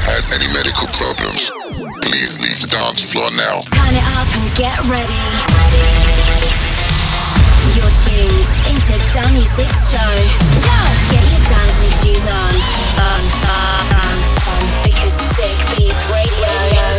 has any medical problems, please leave the dance floor now. Turn it up and get ready. You're tuned into Danny Six Show. Get your dancing shoes on. Because Sick Beats Radio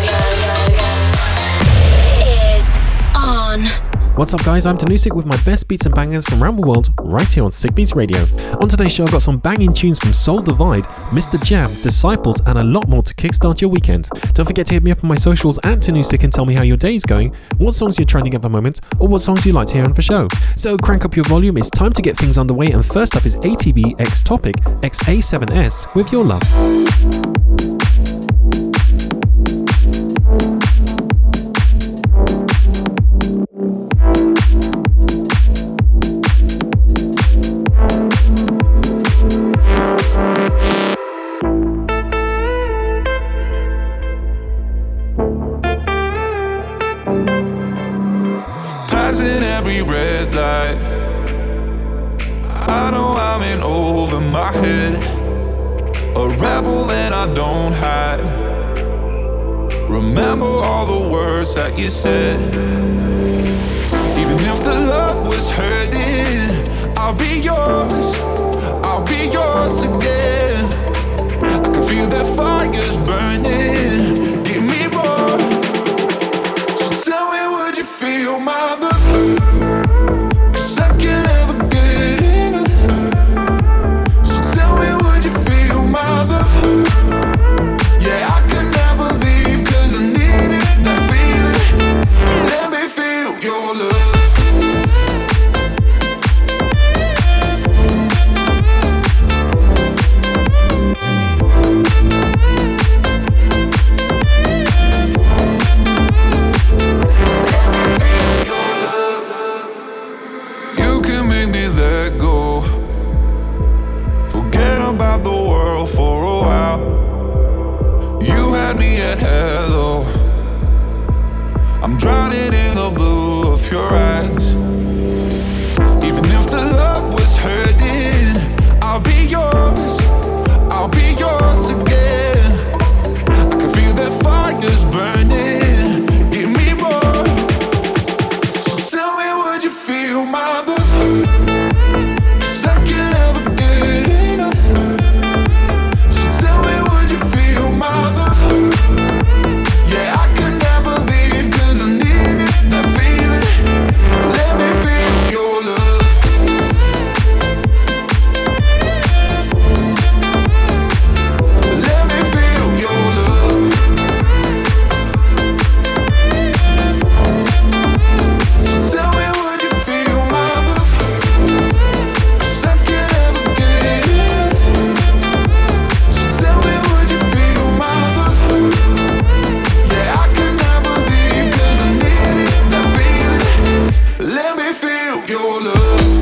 is on. What's up guys, I'm Danusik with my best beats and bangers from around the world right here on Sick Beats Radio. On today's show I've got some banging tunes from Soul Divide, Mr. Jam, Disciples and a lot more to kickstart your weekend. Don't forget to hit me up on my socials at Danusik and tell me how your day is going, what songs you're trending at the moment or what songs you like to hear on the show. So crank up your volume, it's time to get things underway, and first up is ATB X Topic XA7S with Your Love. That you said, even if the love was hurting, I'll be yours again. I can feel that fire's burning, give me more. So tell me, would you feel my love? 'Cause I can't ever get enough. So tell me, would you feel my love? Yeah, I can never leave 'cause I need it, that feeling. Let me feel your love. You can make me let go, forget about the world for a while. You had me at hello, I'm drowning in the blue of your eyes. Even if the love was hurting, I'll be yours again. I can feel that fire's burning, give me more. So tell me, would you feel my love? 'Cause I can't ever get enough. So tell me, would you feel my love? Yeah, I can never leave 'cause I need it, that feeling. Let me feel your love. Let me feel your love. So tell me, would you feel my love? 'Cause I can't ever get enough. So tell me, would you feel my love? Yeah, I can never leave 'cause I need it, that feeling. Let me feel your love.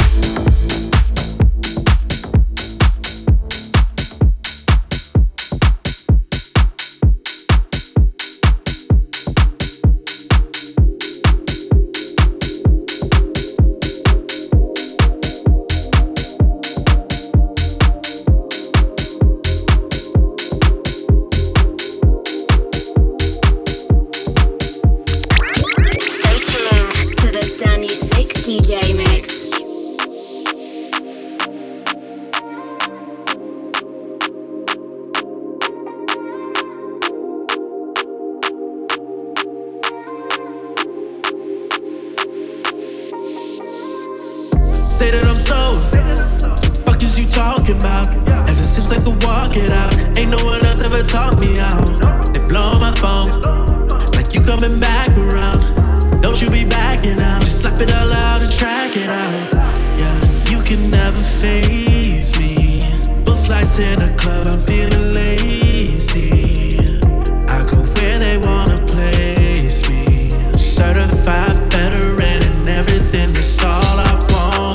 Stay tuned to the Danny Sick DJ mix. Say that I'm sold. Fuck is you talking about? Ever since I could walk it out, ain't no one else ever taught me out. They blow my phone, like you coming back around. Don't you be backing out, just slap it all out and track it out. Yeah, you can never face me. Book flights in a club, I'm feeling lazy. I go where they wanna place me. Certified veteran and everything, that's all I want.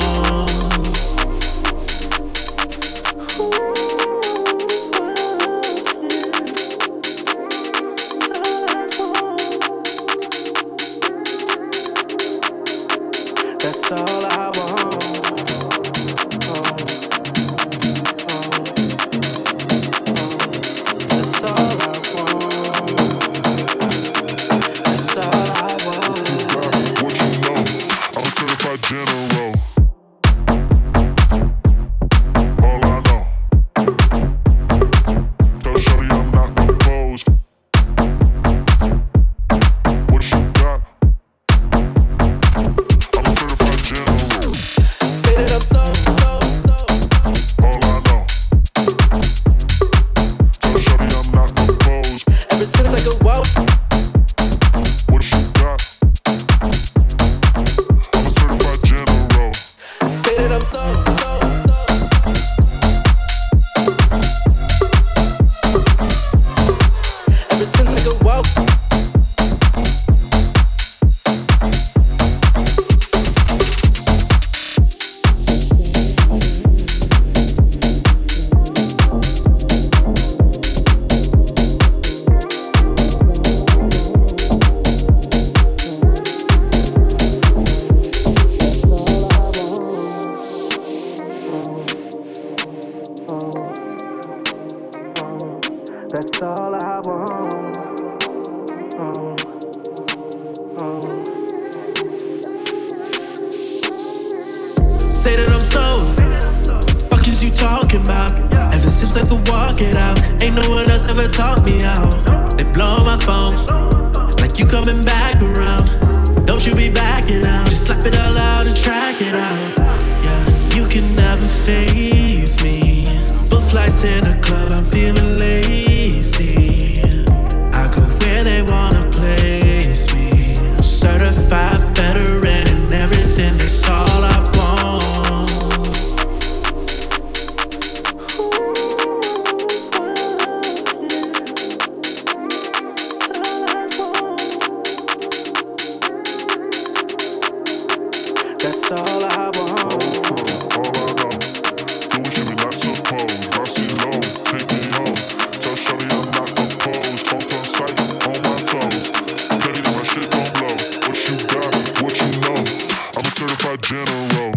That's all I want. That's all I want. Say that I'm sold. Fuck is you talking about? Ever since I could walk it out, ain't no one else ever taught me out. They blow my phone like you coming back around. Don't you be backing out? Just slap it all out and track it out. Yeah, you can never face me. Book flights in a club, I'm feeling lazy. I go where they wanna place me. Certified veteran and everything, that's all I want. That's all I want. General.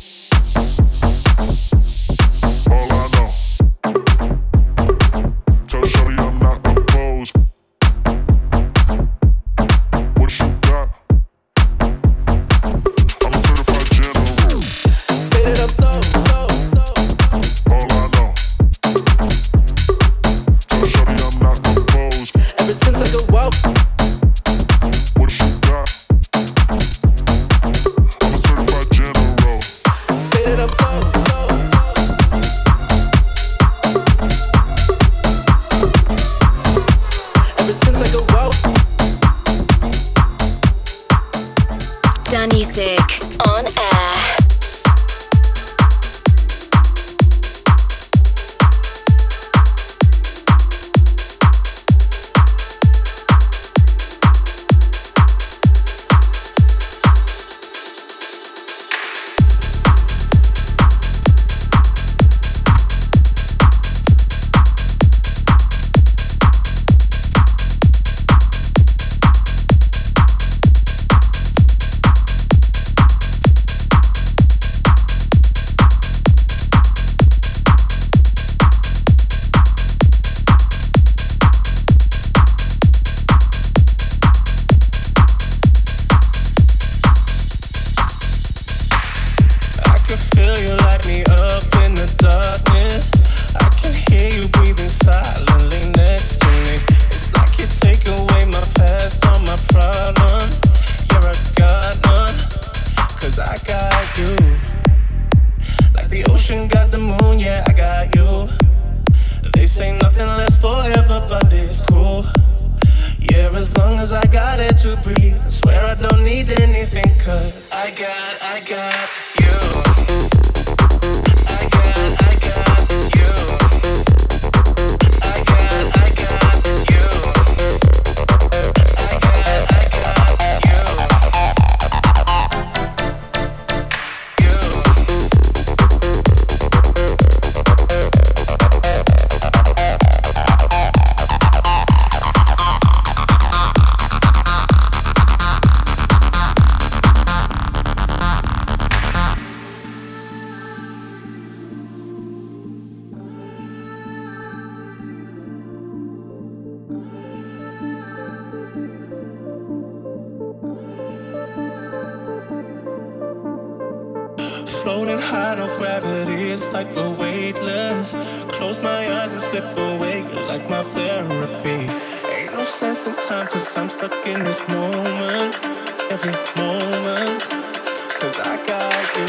Floating high, no gravity, it's like we're weightless. Close my eyes and slip away, you're like my therapy. Ain't no sense in time, cause I'm stuck in this moment. Every moment, cause I got you.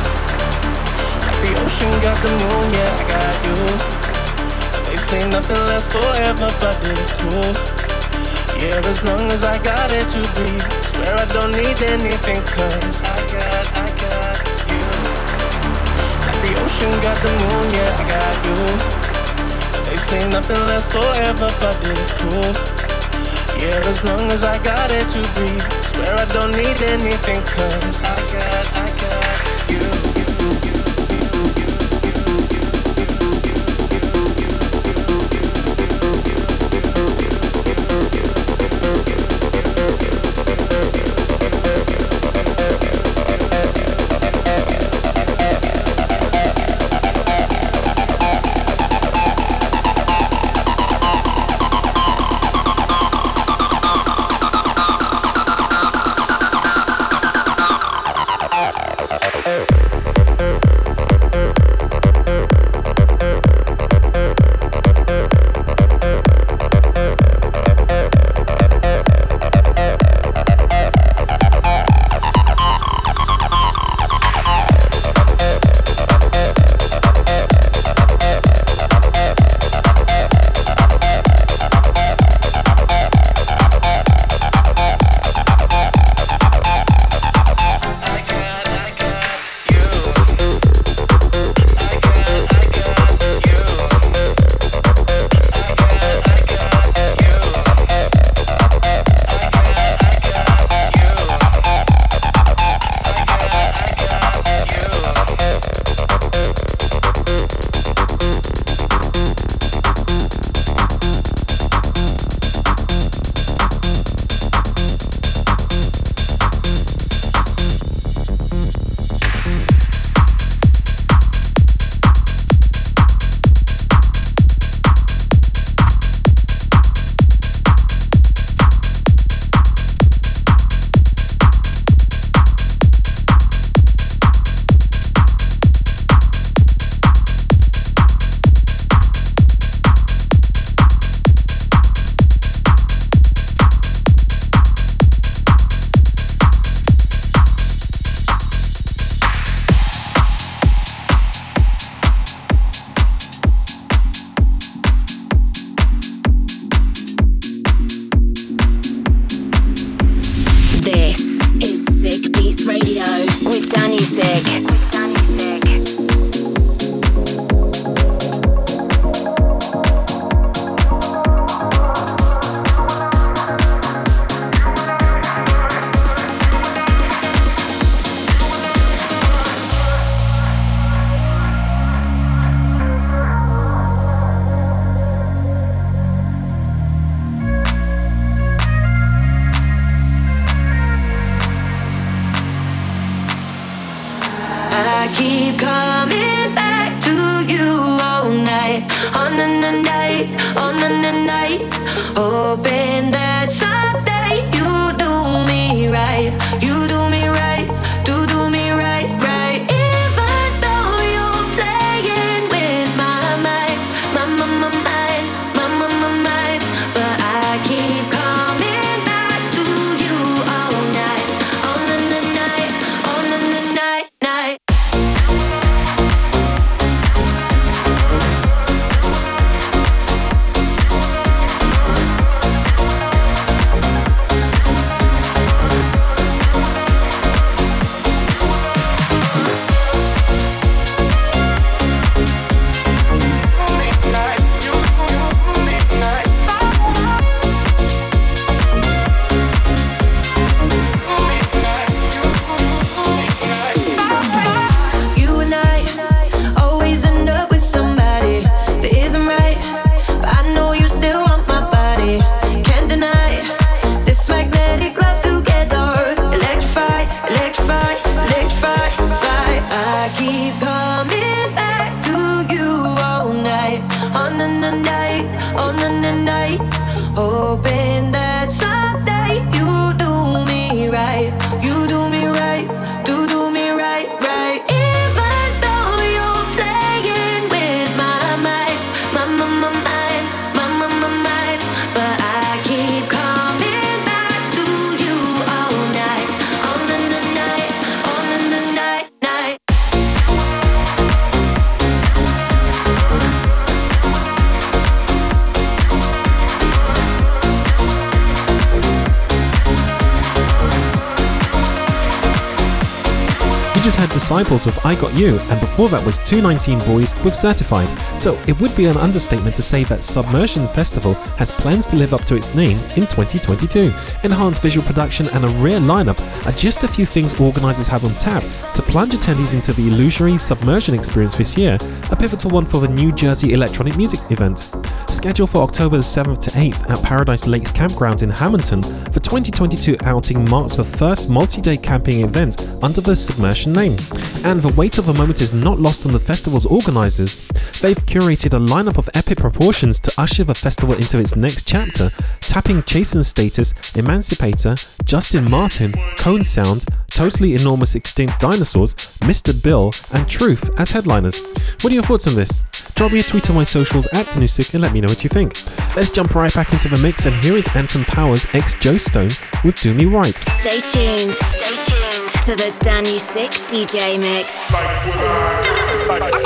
Like the ocean got the moon, yeah, I got you. They say nothing lasts forever, but it's cool. Yeah, as long as I got it to breathe, swear I don't need anything, cause I got you. Like the ocean got the moon, yeah, I got you. They say nothing lasts forever, but it's cool. Yeah, as long as I got it to breathe, swear I don't need anything, cause I got you. just had Disciples with I Got You, and before that was 219 Boys with Certified. So it would be an understatement to say that Submersion Festival has plans to live up to its name in 2022. Enhanced visual production and a rare lineup are just a few things organisers have on tap to plunge attendees into the illusory Submersion experience this year, a pivotal one for the New Jersey electronic music event. Scheduled for October 7th to 8th at Paradise Lakes Campground in Hamilton, the 2022 outing marks the first multi-day camping event under the Submersion name. And the weight of the moment is not lost on the festival's organisers. They've curated a lineup of epic proportions to usher the festival into its next chapter, tapping Chasen's Status, Emancipator, Justin Martin, Cone Sound, Totally Enormous Extinct Dinosaurs, Mr. Bill, and Truth as headliners. What are your thoughts on this? Drop me a tweet on my socials at Danusik and let me know what you think. Let's jump right back into the mix, and here is Anton Powers x Joe Stone with Do Me Right. Stay tuned to the Danusik DJ mix. Like what I got,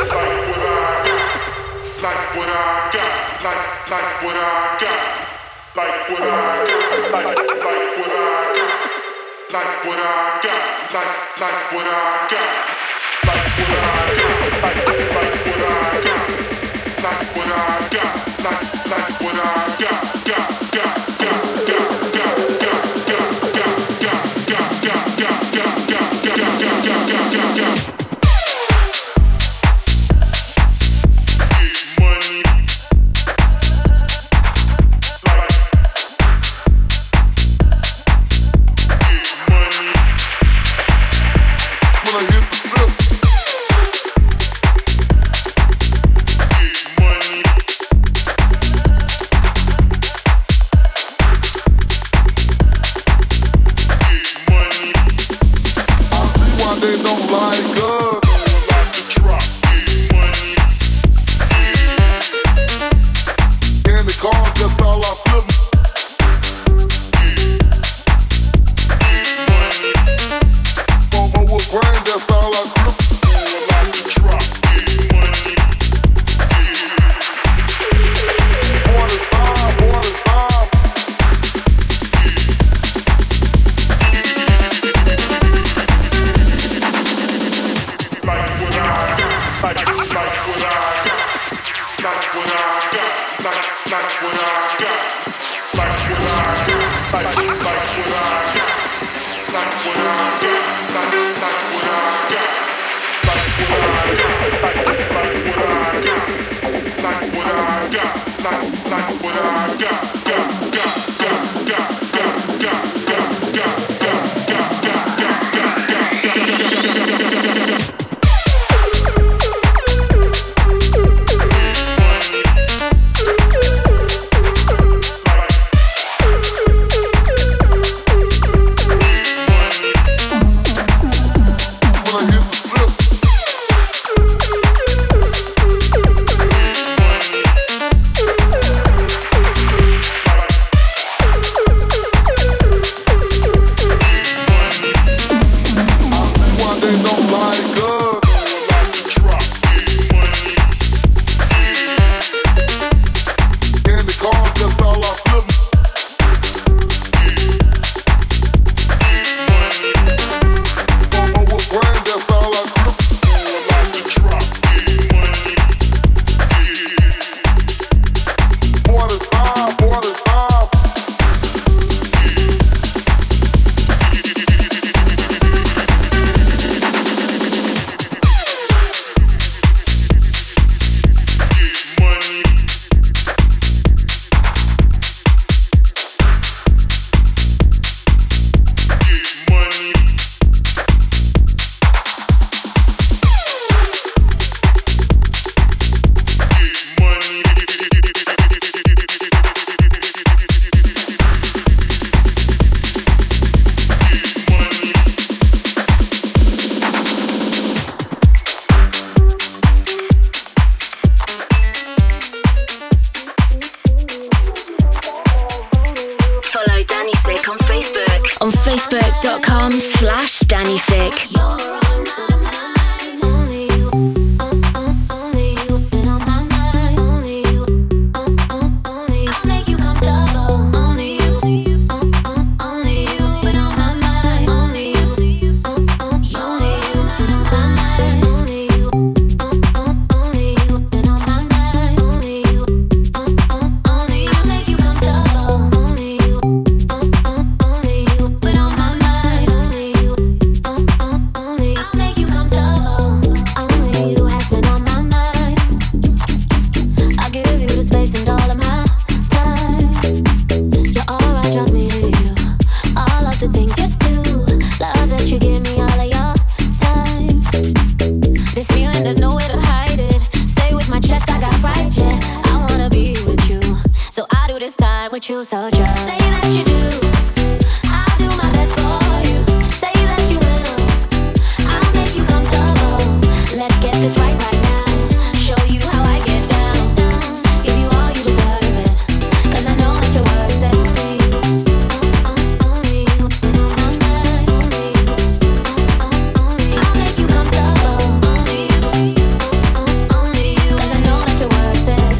like what I got, like what I got, like what I got, like what I got, like what I got, like what I got, like what I got, like what I got, like what I got, like what I got. on facebook.com/DannyThick. So just say that you do. I'll do my best for you. Say that you will. I'll make you comfortable. Let's get this right now. Show you how I get down. Give you all you deserve it. 'Cause I know that you're worth it. Only you, on my mind. Only you, I'll make you comfortable. Only you, 'cause I know that you're worth it.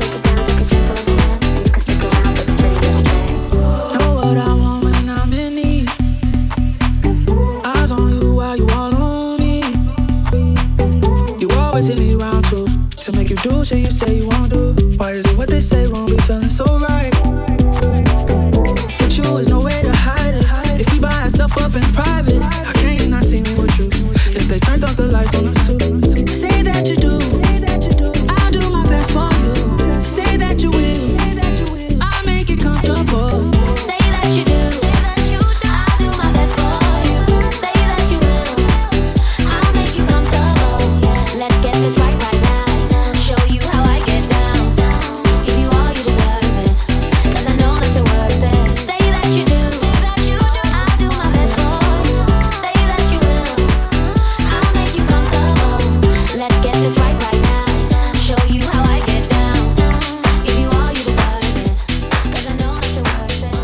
What I want when I'm in need. Eyes on you while you all on me. You always hit me round two to make you do shit you say you won't do. Why is it what they say won't be feeling so right? With you is no way to hide it. If you by yourself up in private, how can you not see me with you? If they turned off the lights on us too. Say that you do. I'll do my best for you. Say that you will. I'll make it comfortable. You do. I'll do my best for you. Say that you will. I'll make you comfortable. Let's get this right now. Show you how I get down. Give you all you deserve it. 'Cause I know that you're worth it. Say that you do. I'll do my best for you. Say that you will. I'll make you comfortable. Let's get this right now. Show you how I get down. Give you all you deserve it. 'Cause I know that you're worth it.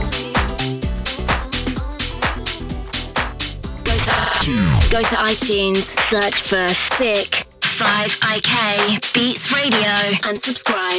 Go to iTunes, search for Sick 5IK Beats Radio and subscribe.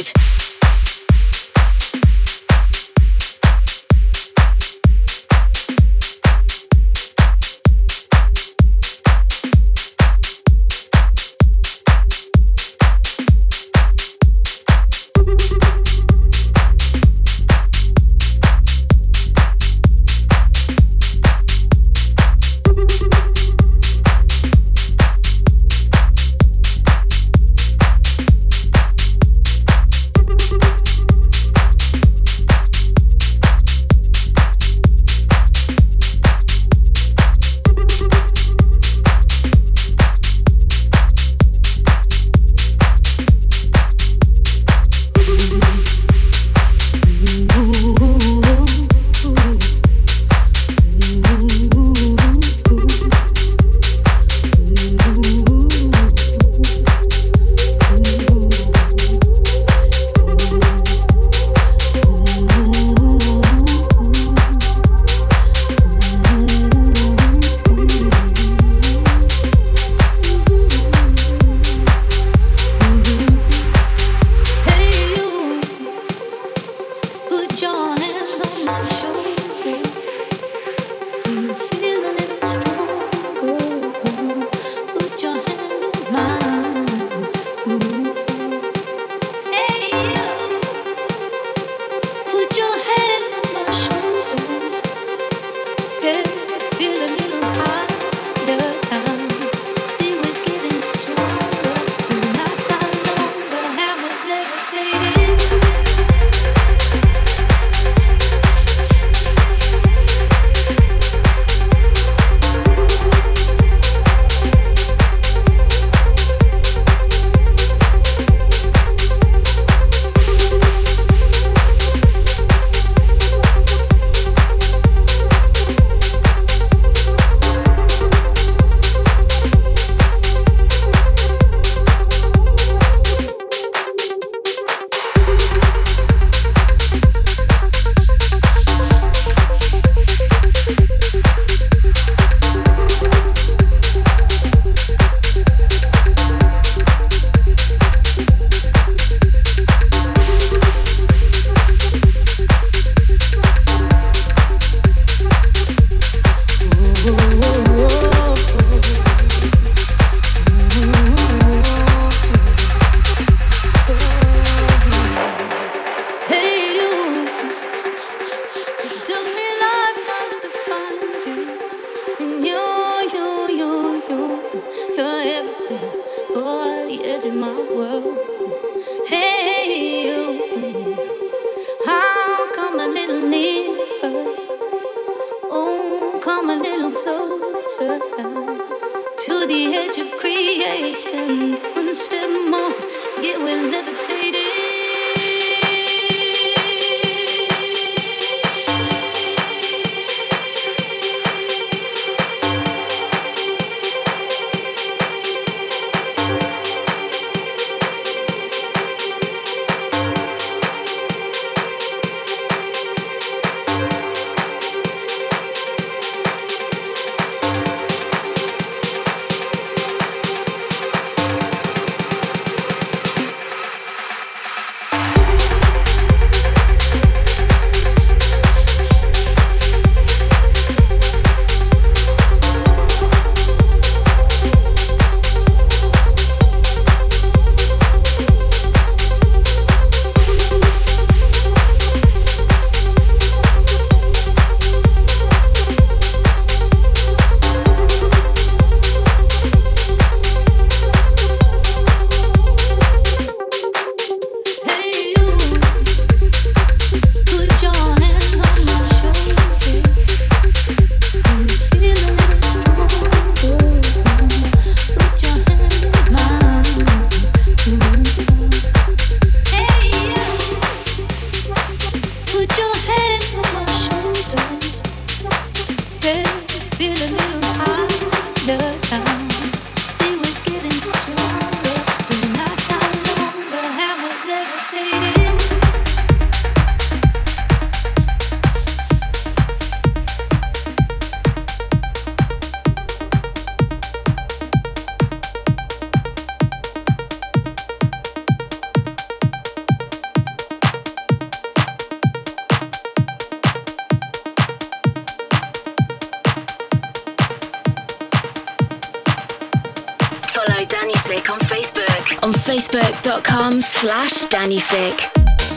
on facebook.com/DannyThick.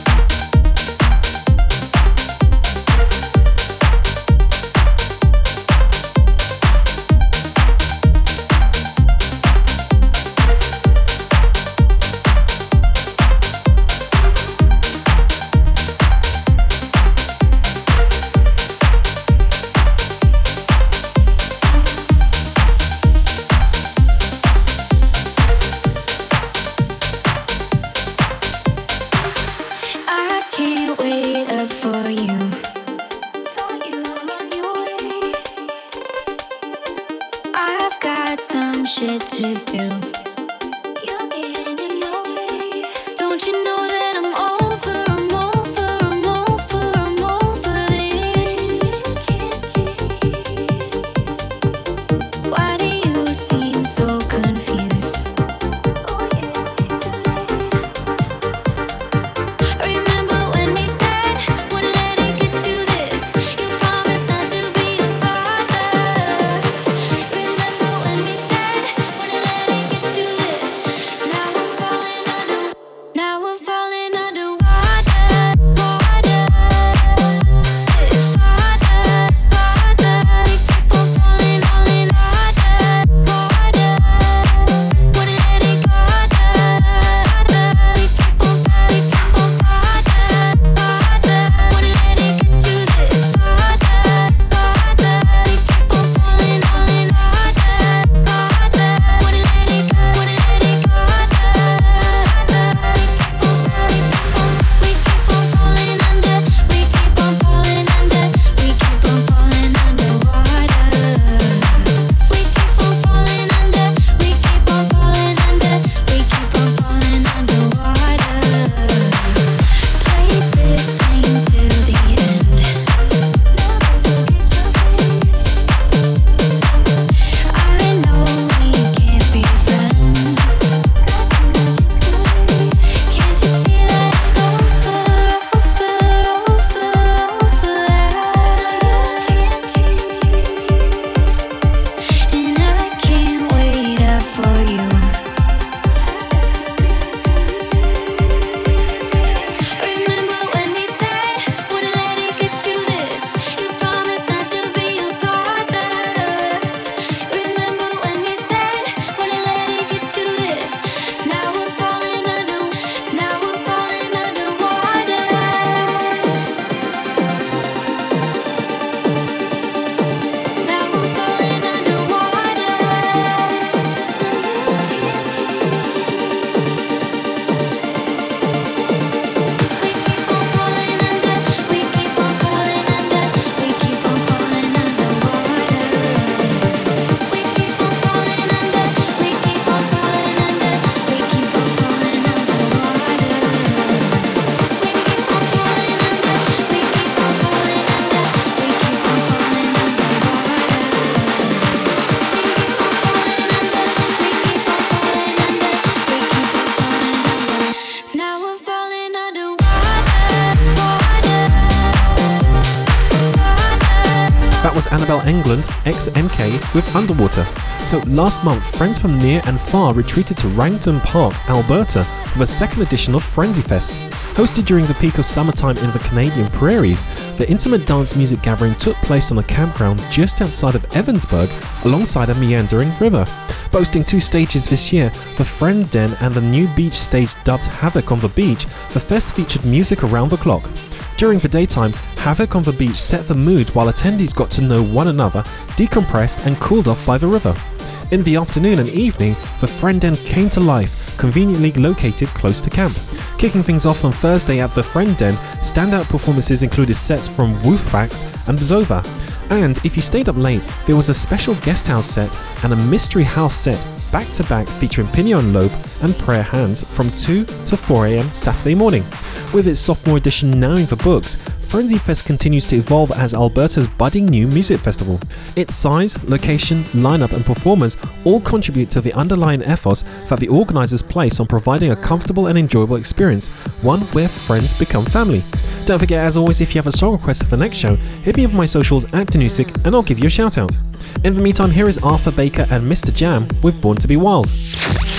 That was Annabelle England, ex-MK, with Underwater. So last month, friends from near and far retreated to Wrangton Park, Alberta, for the second edition of Frenzy Fest. Hosted during the peak of summertime in the Canadian prairies, the intimate dance music gathering took place on a campground just outside of Evansburg, alongside a meandering river. Boasting 2 stages this year, the Friend Den and the new beach stage dubbed Havoc on the Beach, the fest featured music around the clock. During the daytime, Havoc on the Beach set the mood while attendees got to know one another, decompressed and cooled off by the river. In the afternoon and evening, the Friend Den came to life, conveniently located close to camp. Kicking things off on Thursday at the Friend Den, standout performances included sets from Wolffax and Zova. And if you stayed up late, there was a special guest house set and a mystery house set back-to-back featuring Pinion Lobe and Prayer Hands from 2 to 4 AM Saturday morning. With its sophomore edition now in the books, Frenzy Fest continues to evolve as Alberta's budding new music festival. Its size, location, lineup and performers all contribute to the underlying ethos that the organisers place on providing a comfortable and enjoyable experience, one where friends become family. Don't forget, as always, if you have a song request for the next show, hit me up on my socials at Danusik and I'll give you a shout out. In the meantime, here is Arthur Baker and Mr. Jam with Born to be Wild. For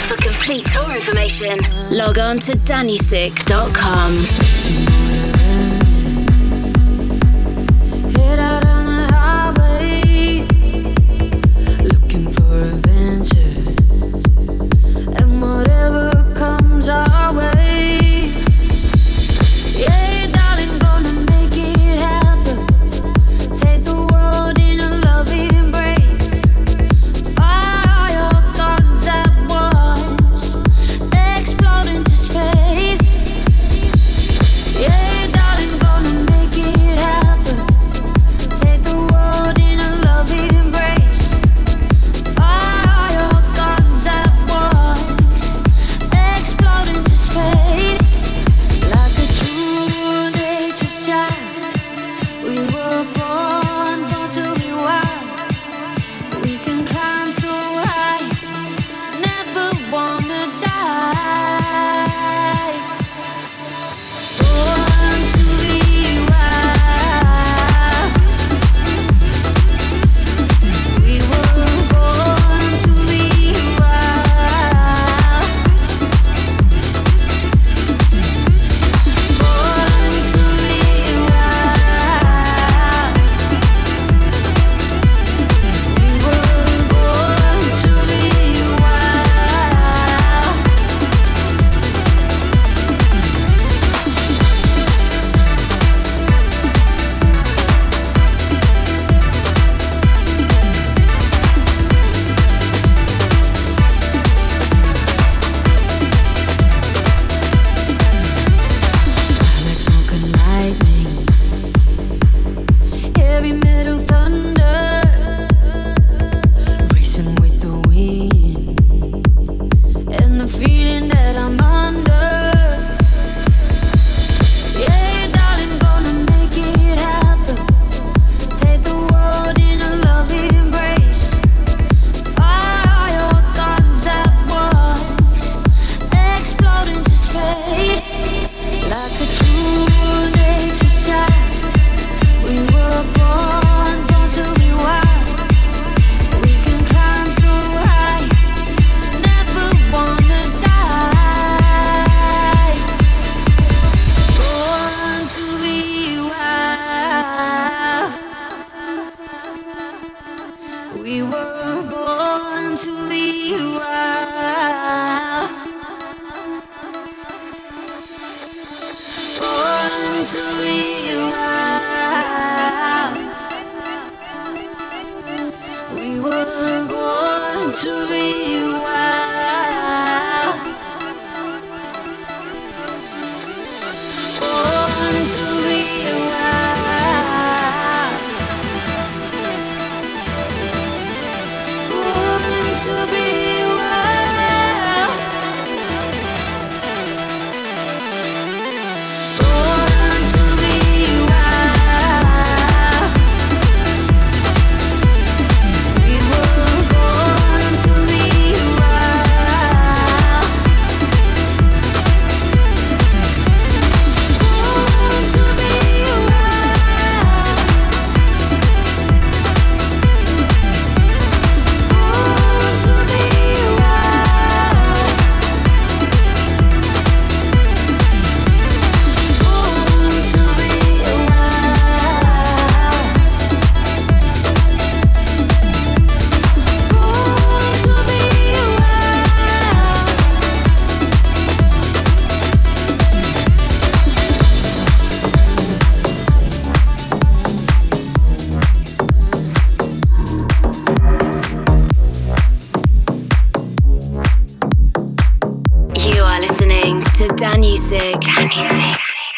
complete tour information, log on to dannysick.com. Head out on the highway, looking for adventures, and whatever comes our way. Yeah, darling, gonna make it happen. Take the world in a loving embrace. Fire your guns at once, explode into space. Yeah, darling, gonna make it happen. Take the world in a loving embrace. Fire your guns at once, explode into space. Like a true nature's child, we were born to be wild. We can climb so high, never wanna die. Born to be wild. We were born to be wild. Born to be wild. We were born to be wild. Like smoke and lightning, heavy metal thunder, racing with the wind, and the feeling that I'm under. Yeah, darling, gonna make it happen. Take the world in a loving embrace. Fire your guns at once, explode into space. Like a true nature's child, we were born to be wild. We can climb so high, never wanna die. Born to be wild. We were born to be wild. Born to be wild. We were born to be wild. Born to be wild. Born to be wild. Born to be wild. We were born to be wild. Born to be wild. Born to be wild. Born to be wild. Born to be You are listening to Dannysick. Dannysick.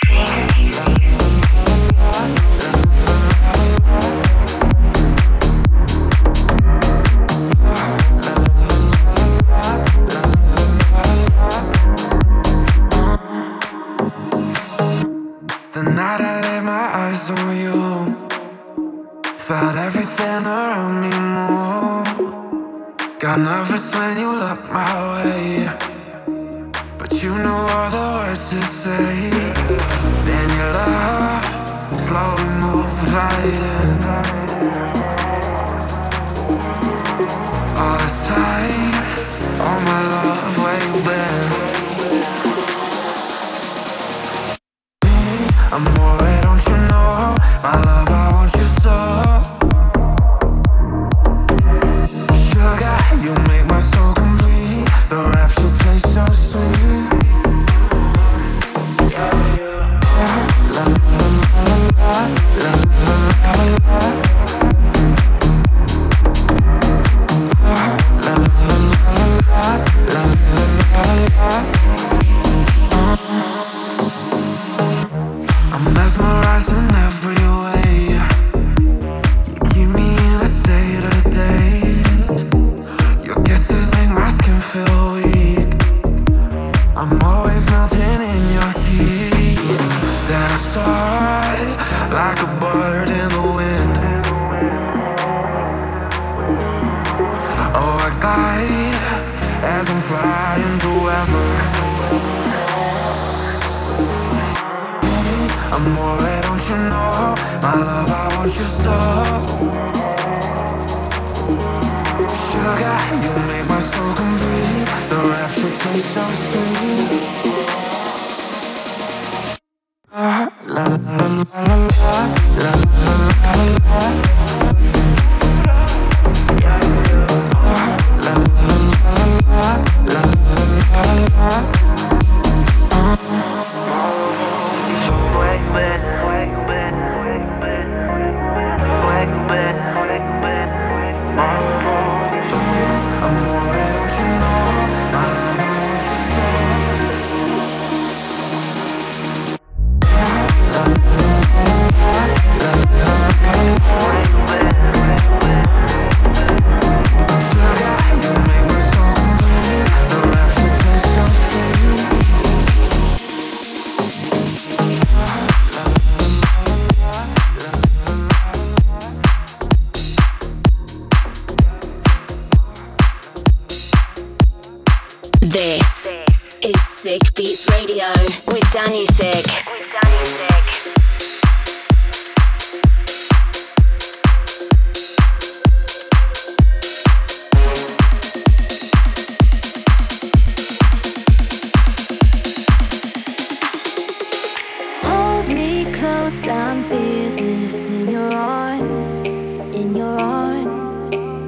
The night I laid my eyes on you, felt everything around me move. Got nervous when you looked my way, but you knew all the words to say. Then your love slowly moved right in. All this time, all my love, where you Amore, don't you know, my love, I want you so. Sugar, you make my soul complete. The rapture tastes so sweet. La la la la la la la la. I'm mesmerized in every way. You keep me in a state of daze. Your kisses make my skin feel weak. I'm always melting in your heat. Then I soar like a bird in the wind. Oh, I glide as I'm flying forever. Amore, don't you know, my love, I want you so. Sugar, you make my soul complete. The rapture tastes so sweet. La la la la la la la la. This is Sick Beats Radio with Danny Sick. Hold me close, I'm fearless in your arms, in your arms.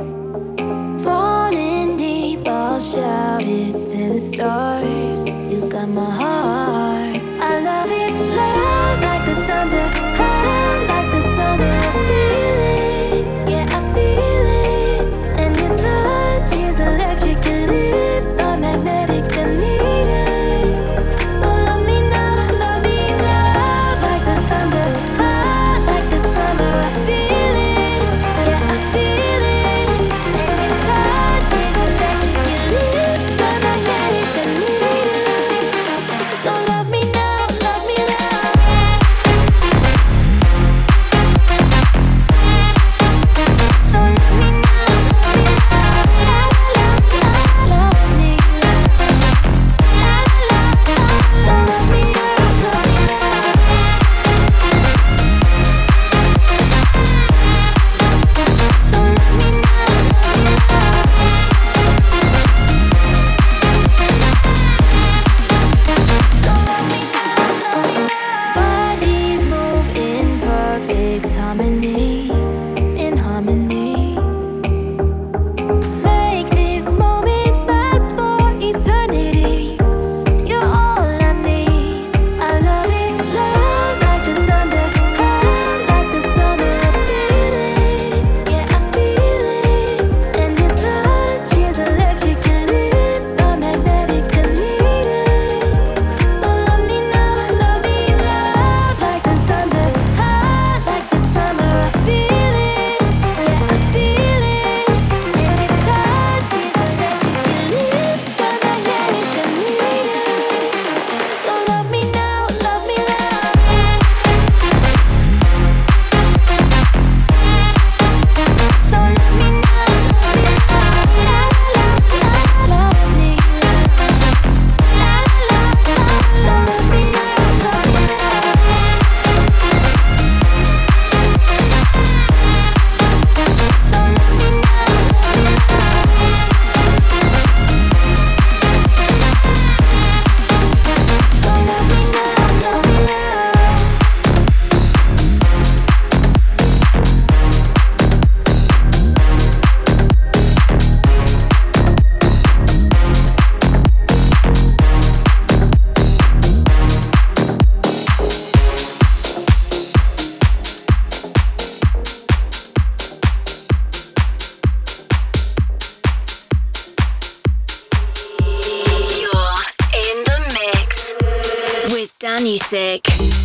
Falling deep, I'll shout it to the stars. You got my heart. I love it loud like the thunder, high like the summer. I feel it, yeah, I feel it. And your touch is electric, your lips are magnetic, I need it. So love me now, love me loud like the thunder, high Danusik.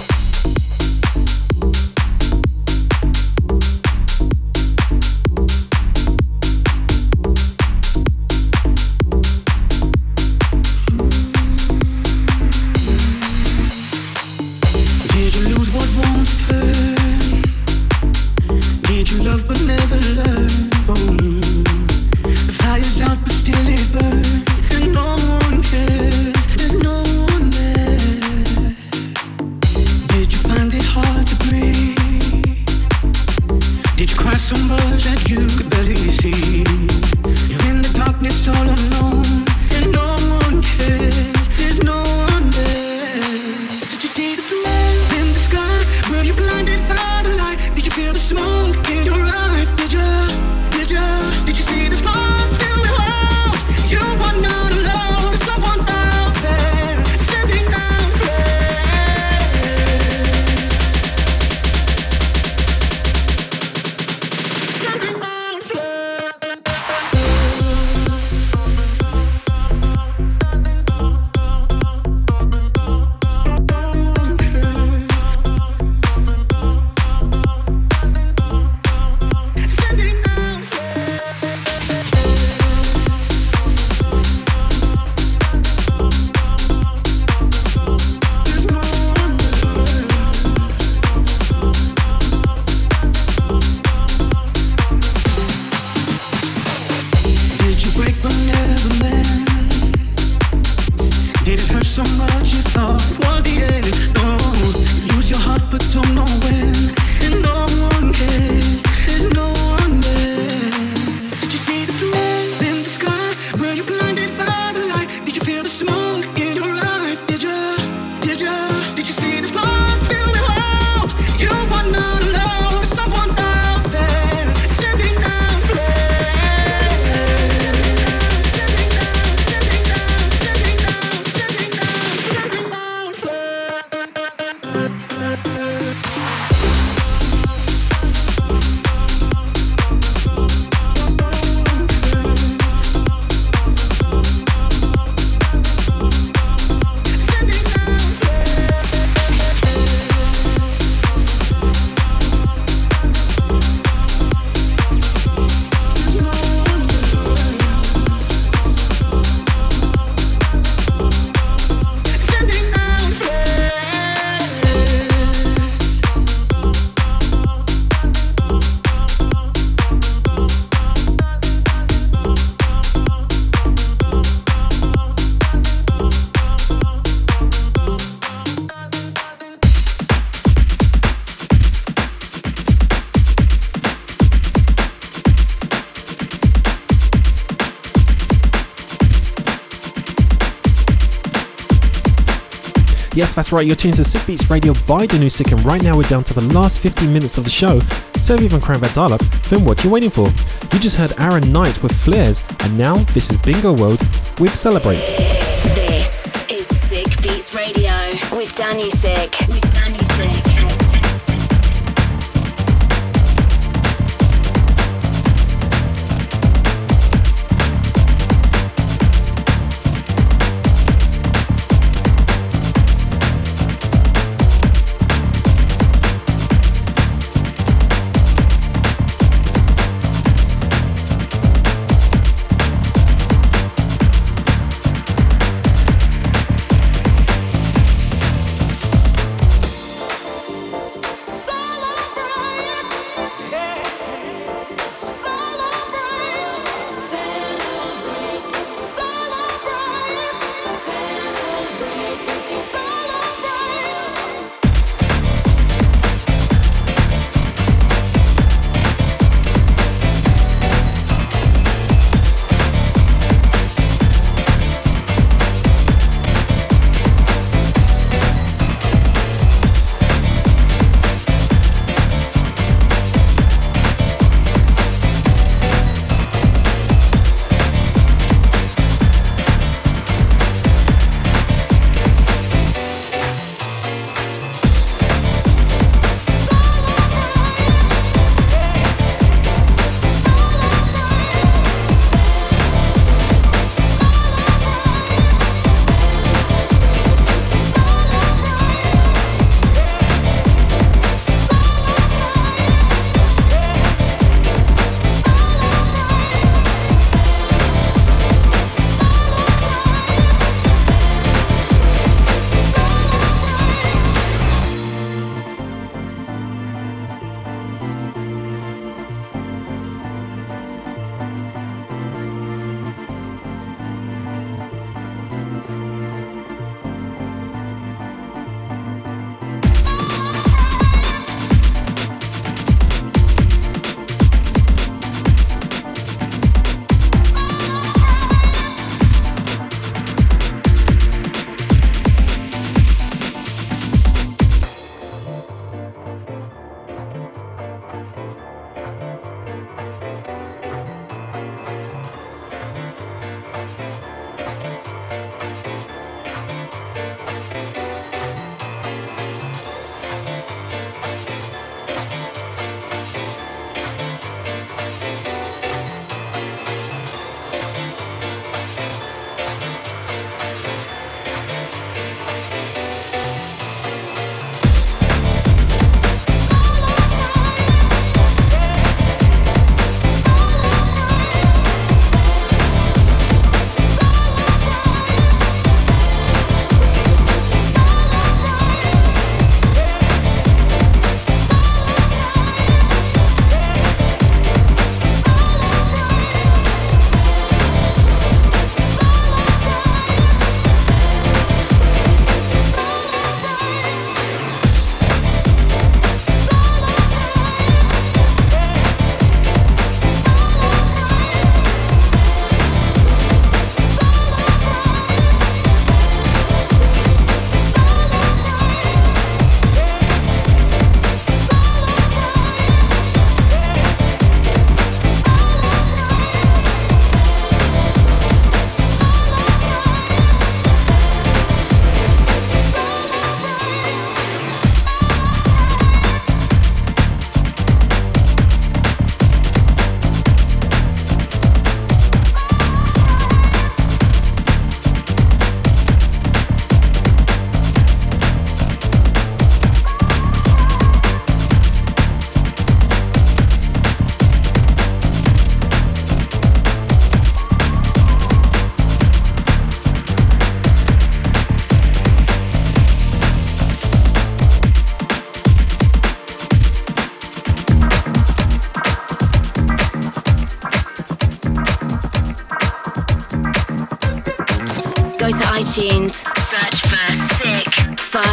Yes, that's right, you're tuned to Sick Beats Radio by Danusik, and right now we're down to the last 15 minutes of the show, so if you haven't cranked that dial up, then what are you waiting for? You just heard Aaron Knight with Flares, and now this is Bingo World with Celebrate. This is Sick Beats Radio with Danusik.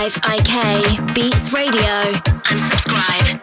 5IK Beats Radio and subscribe.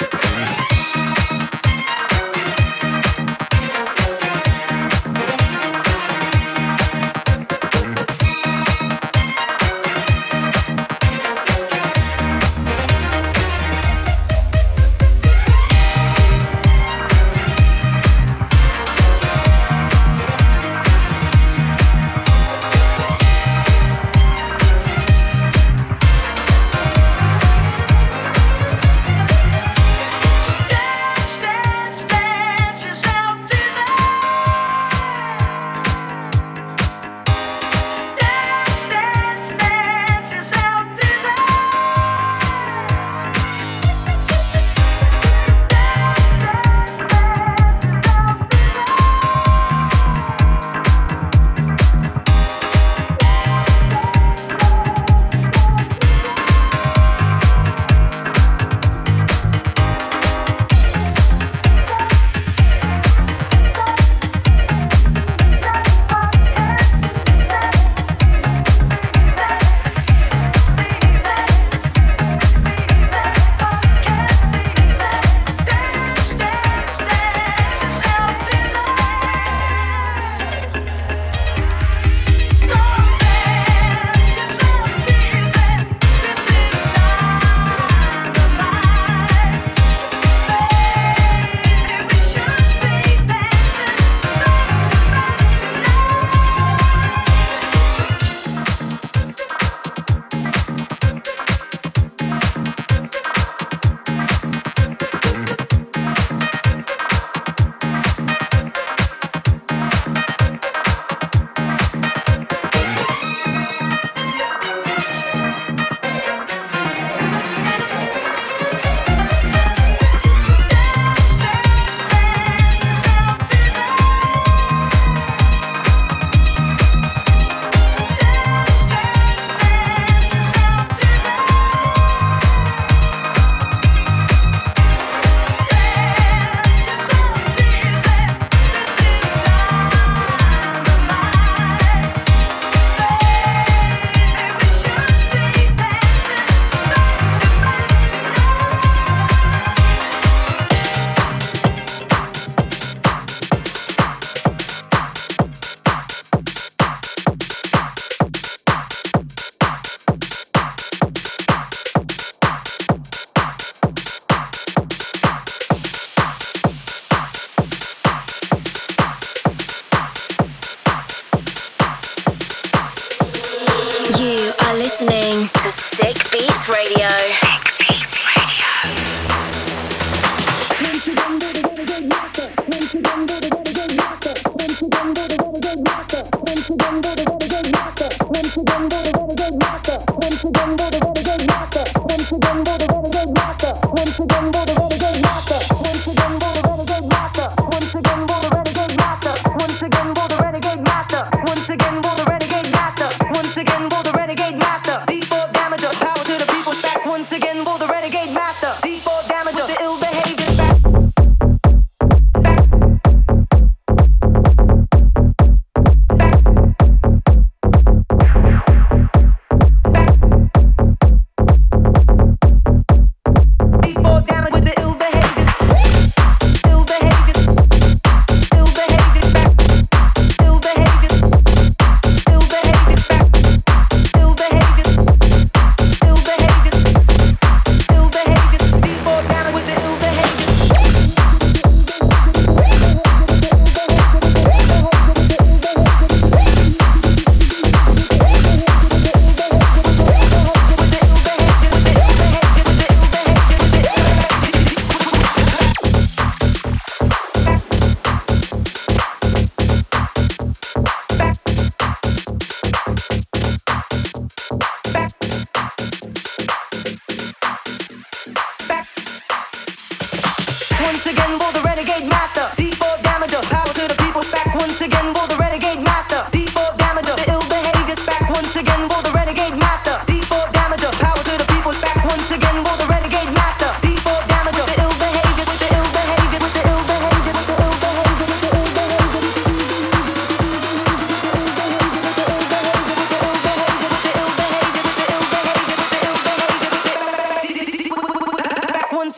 Listening to Sick Beats Radio.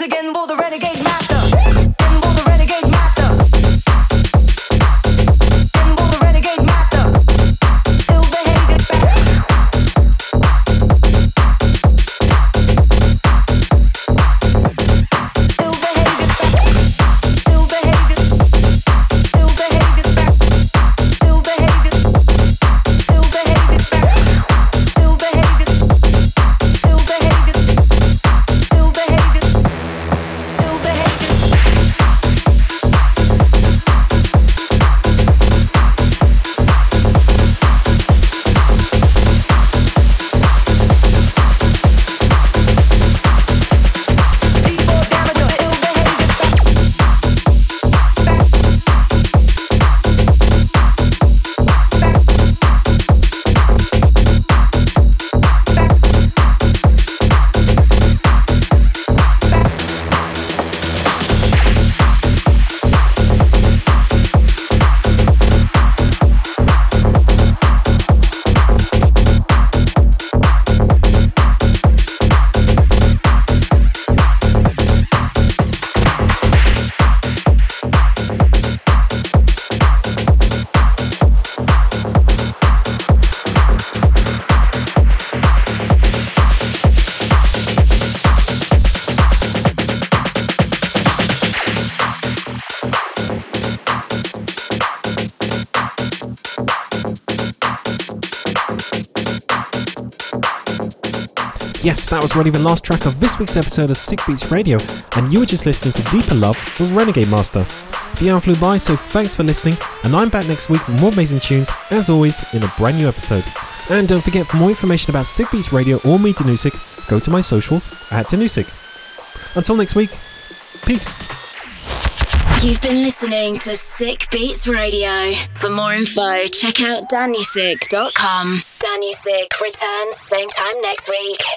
again for the renegade master. And for the renegade master. And for the renegade master. Ill behavior back. Ill behavior back. Ill behavior. Ill behavior back. Ill behavior. Ill behavior back. Ill behavior. Ill behavior. Ill behavior. Ill behavior. People damage your ill behavior Yes, that was already the last track of this week's episode of Sick Beats Radio, and you were just listening to Deeper Love with Renegade Master. The hour flew by, so thanks for listening, and I'm back next week with more amazing tunes, as always, in a brand new episode. And don't forget, for more information about Sick Beats Radio or me, Danusik, go to my socials at Danusik. Until next week, peace. You've been listening to Sick Beats Radio. For more info, check out danusik.com. Danusik returns same time next week.